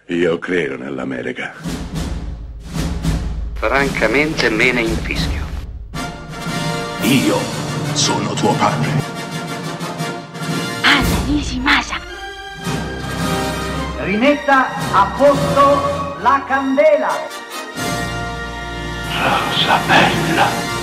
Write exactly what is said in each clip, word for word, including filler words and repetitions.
Io credo nell'America. Francamente me ne infischio. Io sono tuo padre. Anna Nishimasa. Rimetta a posto la candela. Rosa bella.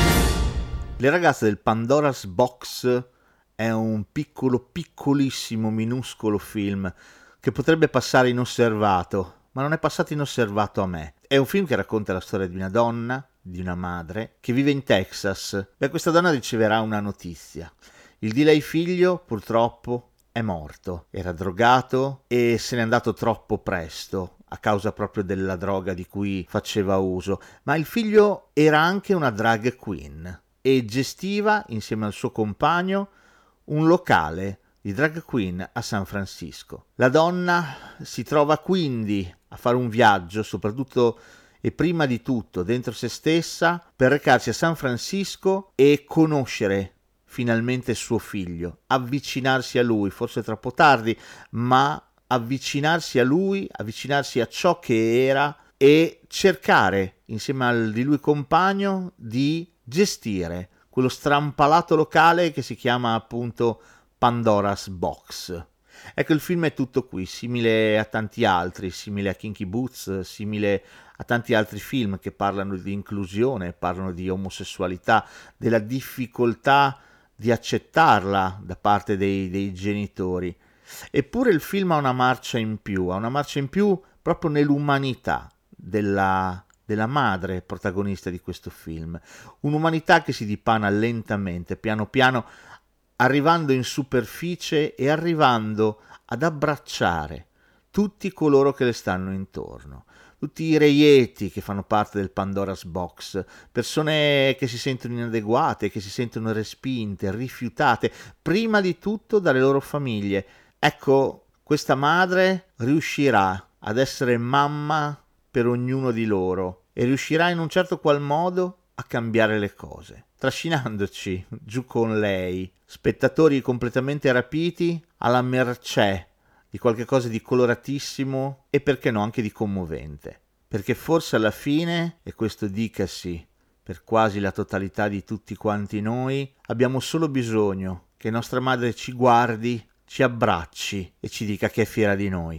Le ragazze del Pandora's Box è un piccolo, piccolissimo, minuscolo film che potrebbe passare inosservato, ma non è passato inosservato a me. È un film che racconta la storia di una donna, di una madre, che vive in Texas. Beh, questa donna riceverà una notizia. Il di lei figlio, purtroppo, è morto. Era drogato e se n'è andato troppo presto, a causa proprio della droga di cui faceva uso. Ma il figlio era anche una drag queen e gestiva, insieme al suo compagno, un locale di drag queen a San Francisco. La donna si trova quindi a fare un viaggio, soprattutto e prima di tutto dentro se stessa, per recarsi a San Francisco e conoscere finalmente suo figlio, avvicinarsi a lui, forse troppo tardi, ma avvicinarsi a lui, avvicinarsi a ciò che era e cercare, insieme al di lui compagno, di gestire quello strampalato locale che si chiama appunto Pandora's Box. Ecco, il film è tutto qui, simile a tanti altri, simile a Kinky Boots, simile a tanti altri film che parlano di inclusione, parlano di omosessualità, della difficoltà di accettarla da parte dei, dei genitori. Eppure il film ha una marcia in più, ha una marcia in più proprio nell'umanità della, della madre protagonista di questo film. Un'umanità che si dipana lentamente, piano piano, arrivando in superficie e arrivando ad abbracciare tutti coloro che le stanno intorno, tutti i reietti che fanno parte del Pandora's Box, persone che si sentono inadeguate, che si sentono respinte, rifiutate, prima di tutto dalle loro famiglie. Ecco, questa madre riuscirà ad essere mamma per ognuno di loro e riuscirà in un certo qual modo a cambiare le cose, trascinandoci giù con lei, spettatori completamente rapiti, alla mercé di qualche cosa di coloratissimo e perché no anche di commovente, perché forse alla fine, e questo dicasi per quasi la totalità di tutti quanti noi, abbiamo solo bisogno che nostra madre ci guardi, ci abbracci e ci dica che è fiera di noi.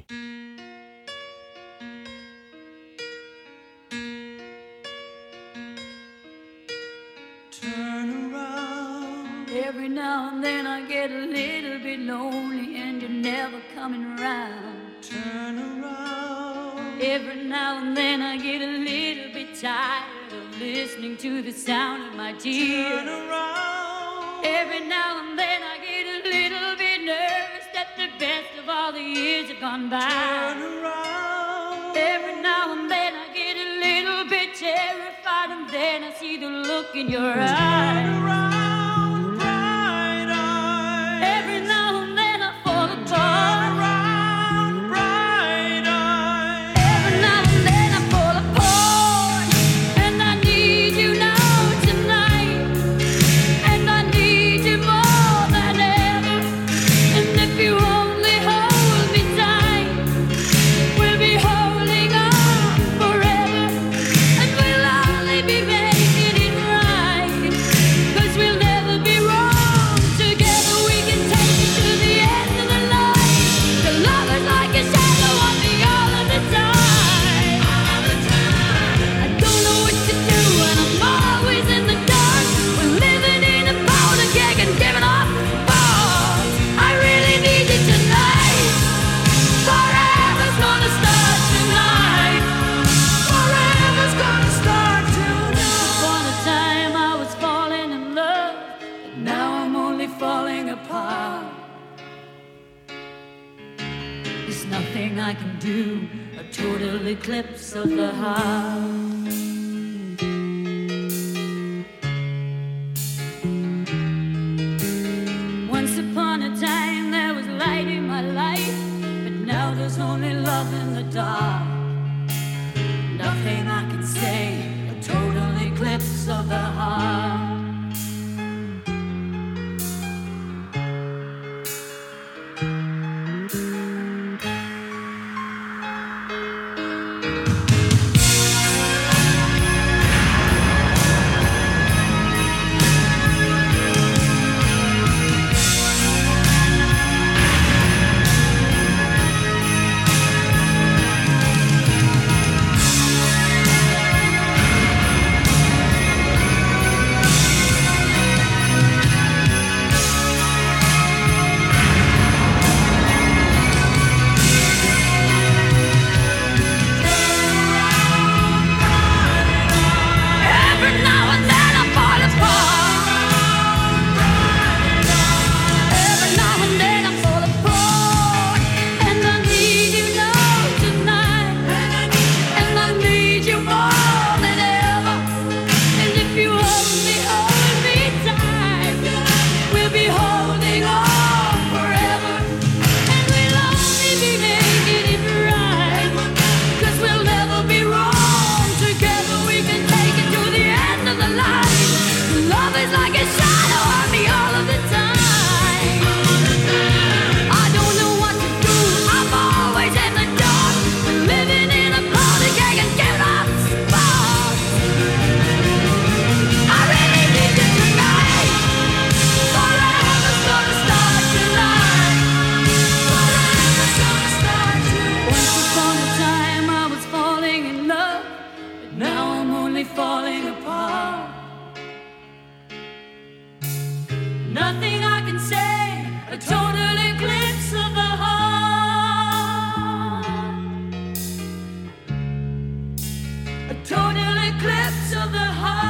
Every now and then I get a little bit lonely and you're never coming around. Turn around. Every now and then I get a little bit tired of listening to the sound of my tears. Turn around. Every now and then I get a little bit nervous that the best of all the years have gone by. Turn around. Every now and then I get a little bit terrified and then I see the look in your eyes. Turn around. I can do a total eclipse of the heart. Once upon a time there was light in my life, but now there's only love in the dark. Nothing I can say, a total eclipse of the heart. Total eclipse of the heart.